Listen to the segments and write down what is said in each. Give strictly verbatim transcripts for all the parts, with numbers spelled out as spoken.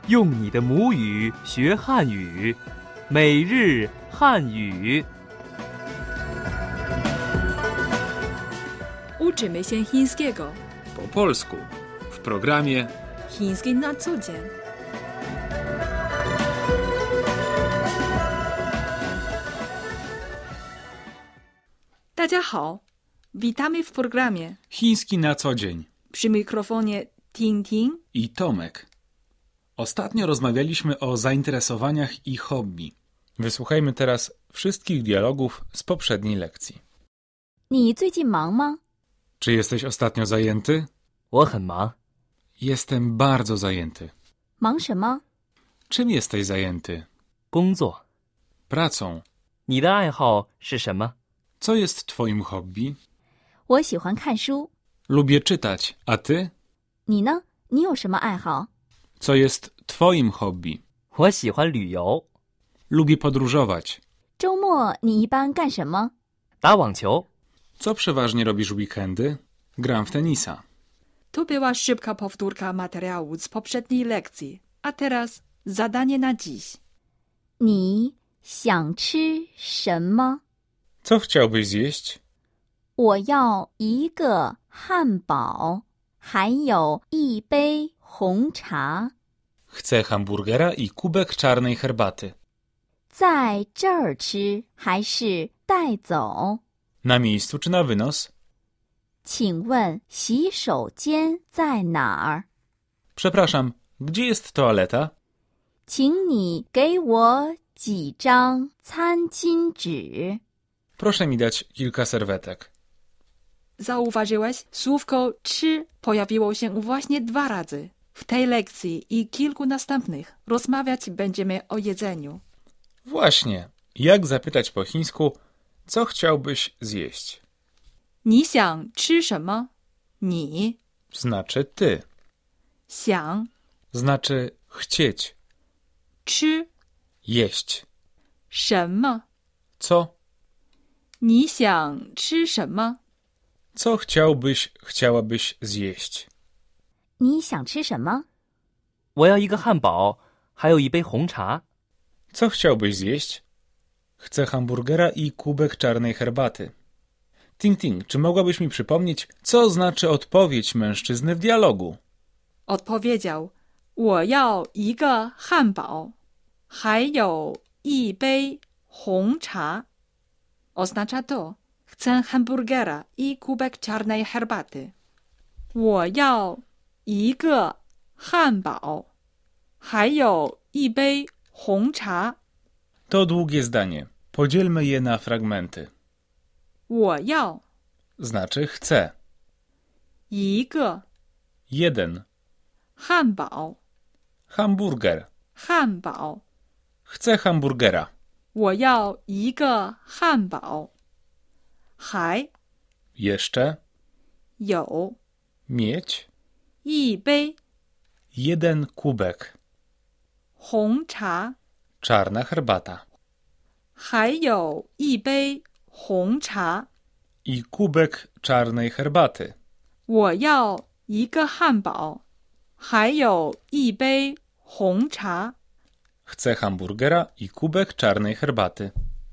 用你的母语学汉语，每日汉语。 Uczymy się chińskiego. Po polsku w programie Chiński na co dzień. Dajiahao. Witamy w programie. Chiński na co dzień. Przy mikrofonie Ting Ting I Tomek. Ostatnio rozmawialiśmy o zainteresowaniach i hobby. Wysłuchajmy teraz wszystkich dialogów z poprzedniej lekcji. 你最近忙吗？ Czy jesteś ostatnio zajęty? 我很忙， Jestem bardzo zajęty. 忙什么？ Czym jesteś zajęty? 工作。 Pracą. 你的爱好是什么？ Co jest twoim hobby? 我喜欢看书。 Lubię czytać, a ty? 你呢？你有什么爱好？ Co jest twoim hobby? 我喜欢旅游， Lubię podróżować. 周末你一般干什么？ 打网球。 Co przeważnie robisz w weekendy? Gram w tenisa. To była szybka powtórka materiału z poprzedniej lekcji. A teraz zadanie na dziś. 你想吃什么？ Co chciałbyś zjeść? 我要一个汉堡，还有一杯红茶。 Chcę hamburgera i kubek czarnej herbaty. 在这儿吃还是带走？ Na miejscu czy na wynos? 请问洗手间在哪儿？ Przepraszam, gdzie jest toaleta? 请你给我几张餐巾纸。 Proszę mi dać kilka serwetek. Zauważyłeś? Słówko czy pojawiło się właśnie dwa razy. W tej lekcji i kilku następnych rozmawiać będziemy o jedzeniu. Właśnie. Jak zapytać po chińsku, co chciałbyś zjeść? 你想吃什么？你 Znaczy ty. 想 Znaczy chcieć. 吃 Jeść. 什么？ Co? 你想吃什么？ Co chciałbyś, chciałabyś zjeść? 你想吃什么？ 我要一个汉堡，还有一杯红茶。 Co chciałbyś zjeść? Chcę hamburgera i kubek czarnej herbaty. Ting Ting, czy mogłabyś mi przypomnieć, co znaczy odpowiedź mężczyzny w dialogu? Odpowiedział: 我要一个汉堡，还有一杯红茶。 Oznacza to: chcę hamburgera i kubek czarnej herbaty. 我要一个汉堡，还有一杯红茶。 To długie zdanie. Podzielmy je na fragmenty. 我要 Znaczy chcę. 一个 Jeden. 汉堡， Hamburger. 汉堡。 Chcę hamburgera. 我要一个汉堡，还 Jeszcze. 有 Mieć. 一杯 Jeden kubek. 红茶， Czarna herbata. 还有一杯红茶。 I kubek czarnej herbaty. 我要一个汉堡，还有一杯红茶。 Chcę hamburgera i kubek czarnej herbaty.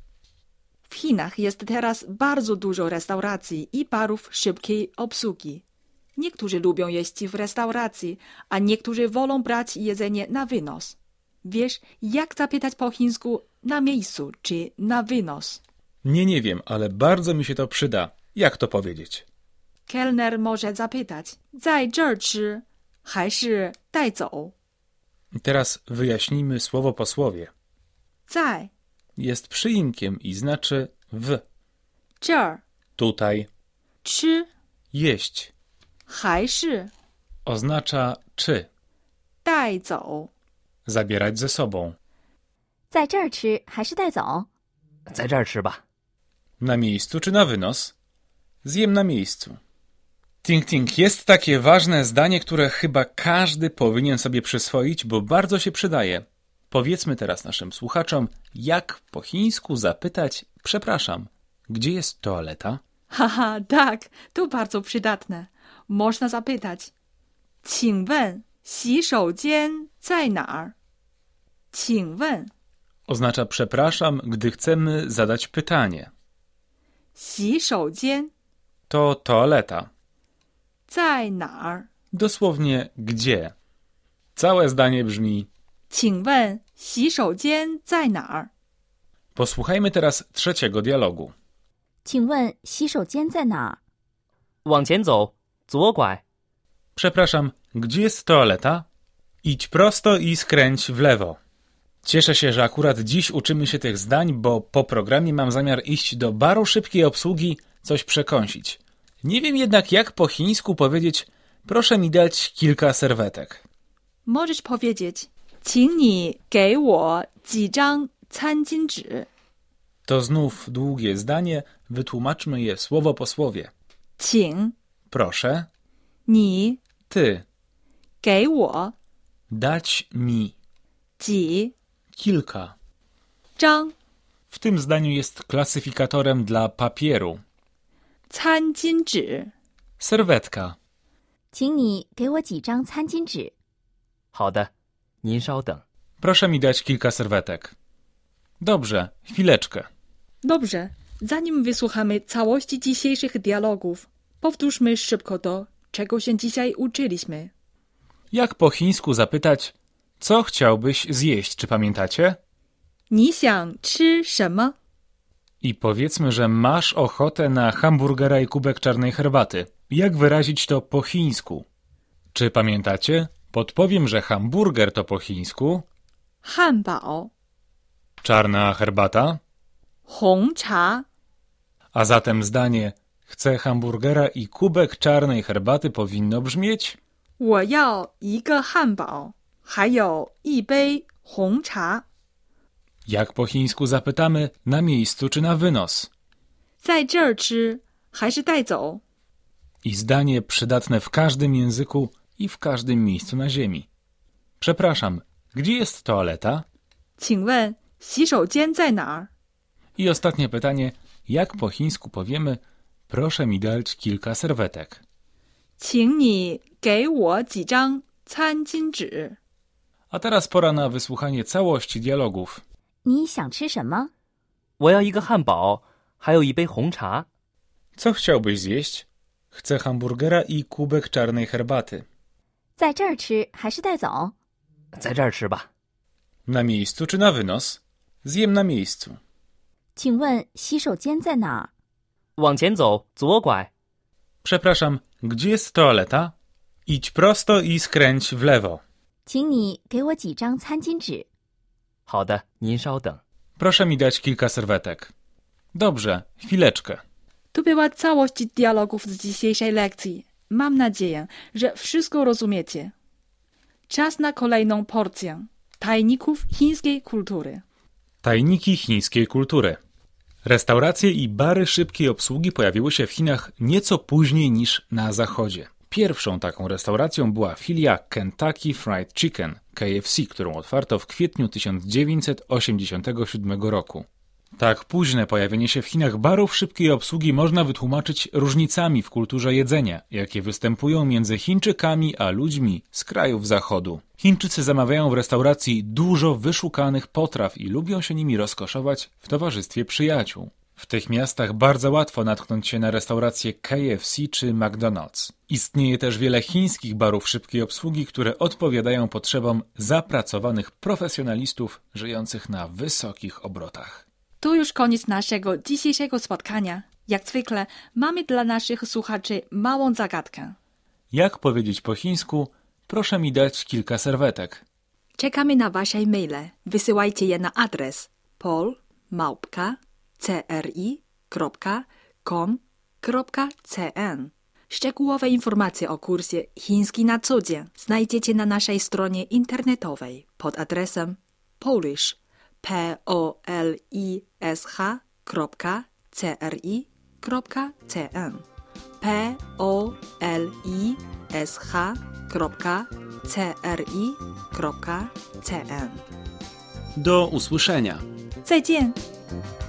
W Chinach jest teraz bardzo dużo restauracji i barów szybkiej obsługi. Niektórzy lubią jeść w restauracji, a niektórzy wolą brać jedzenie na wynos. Wiesz, jak zapytać po chińsku na miejscu czy na wynos? Nie, nie wiem, ale bardzo mi się to przyda. Jak to powiedzieć? Kelner może zapytać: 在这儿吃还是带走? Teraz wyjaśnijmy słowo po słowie. 在 Jest przyimkiem i znaczy w. 这儿 Tutaj. 吃 Jeść. 还是 Oznacza czy. 带走? Zabierać ze sobą. 在这儿吃还是带走？ 在这儿吃吧。 Na miejscu czy na wynos? Zjem na miejscu. Ting Ting, jest takie ważne zdanie, które chyba każdy powinien sobie przyswoić, bo bardzo się przydaje. Powiedzmy teraz naszym słuchaczom, jak po chińsku zapytać, przepraszam, gdzie jest toaleta? Haha, tak, to bardzo przydatne. Można zapytać: 请问洗手间在哪儿？请问 oznacza przepraszam, gdy chcemy zadać pytanie. 洗手间 To toaleta. 在哪儿？ Dosłownie gdzie. Całe zdanie brzmi: 请问洗手间在哪儿？ posłuchajmy teraz trzeciego dialogu. 请问洗手间在哪儿？ 往前走，左拐。 Przepraszam, gdzie jest toaleta? Idź prosto i skręć w lewo. Cieszę się, że akurat dziś uczymy się tych zdań, bo po programie mam zamiar iść do baru szybkiej obsługi coś przekąsić. Nie wiem jednak, jak po chińsku powiedzieć: proszę mi dać kilka serwetek. Możesz powiedzieć 请你给我几张餐巾纸 To znów długie zdanie, wytłumaczmy je słowo po słowie. 请 Proszę, 你 ty, 给我 dać mi 几 kilka. 张 W tym zdaniu jest klasyfikatorem dla papieru. 餐巾纸 Serwetka. 请你给我几张餐巾纸。 好的，您稍等。 Proszę mi dać kilka serwetek. Dobrze, chwileczkę. Dobrze, zanim wysłuchamy całości dzisiejszych dialogów, powtórzmy szybko to, czego się dzisiaj uczyliśmy. Jak po chińsku zapytać: co chciałbyś zjeść, czy pamiętacie? 你想吃什么？ I powiedzmy, że masz ochotę na hamburgera i kubek czarnej herbaty. Jak wyrazić to po chińsku? Czy pamiętacie? Podpowiem, że hamburger to po chińsku 汉堡 czarna herbata, 红茶 a zatem zdanie chcę hamburgera i kubek czarnej herbaty powinno brzmieć: 我要一个汉堡，还有一杯红茶。 jak po chińsku zapytamy na miejscu czy na wynos? 在这儿吃还是带走？ I zdanie przydatne w każdym języku i w każdym miejscu na ziemi. Przepraszam, gdzie jest toaleta? 请问洗手间在哪儿？ I ostatnie pytanie, jak po chińsku powiemy: proszę mi dać kilka serwetek. 请你给我几张餐巾纸。 A teraz pora na wysłuchanie całości dialogów. 你想吃什么？ 我要一个汉堡，还有一杯红茶。 Co chciałbyś zjeść? Chcę hamburgera i kubek czarnej herbaty. 在这儿吃还是带走？ 在这儿吃吧。 Na miejscu czy na wynos? Zjem na miejscu. 请问洗手间在哪儿？ 往前走，左拐。 Przepraszam, gdzie jest toaleta? Idź prosto i skręć w lewo. 请你给我几张餐巾纸。 好的，您稍等。 Proszę mi dać kilka serwetek. Dobrze, chwileczkę. To była całość dialogów z dzisiejszej lekcji. Mam nadzieję, że wszystko rozumiecie. Czas na kolejną porcję tajników chińskiej kultury. Tajniki chińskiej kultury. Restauracje i bary szybkiej obsługi pojawiły się w Chinach nieco później niż na zachodzie. Pierwszą taką restauracją była filia Kentucky Fried Chicken, K F C, którą otwarto w kwietniu tysiąc dziewięćset osiemdziesiątego siódmego roku. Tak późne pojawienie się w Chinach barów szybkiej obsługi można wytłumaczyć różnicami w kulturze jedzenia, jakie występują między Chińczykami a ludźmi z krajów zachodu. Chińczycy zamawiają w restauracji dużo wyszukanych potraw i lubią się nimi rozkoszować w towarzystwie przyjaciół. W tych miastach bardzo łatwo natknąć się na restauracje K F C czy McDonald's. Istnieje też wiele chińskich barów szybkiej obsługi, które odpowiadają potrzebom zapracowanych profesjonalistów żyjących na wysokich obrotach. To już koniec naszego dzisiejszego spotkania. Jak zwykle mamy dla naszych słuchaczy małą zagadkę. Jak powiedzieć po chińsku: proszę mi dać kilka serwetek? Czekamy na wasze maile. Wysyłajcie je na adres pol małpka c r i kropka com kropka c n. Szczegółowe informacje o kursie Chiński na co dzień znajdziecie na naszej stronie internetowej pod adresem polish p o l i s h kropka c r i kropka c n p o l i s h kropka c r i kropka c n. Do usłyszenia. 再见。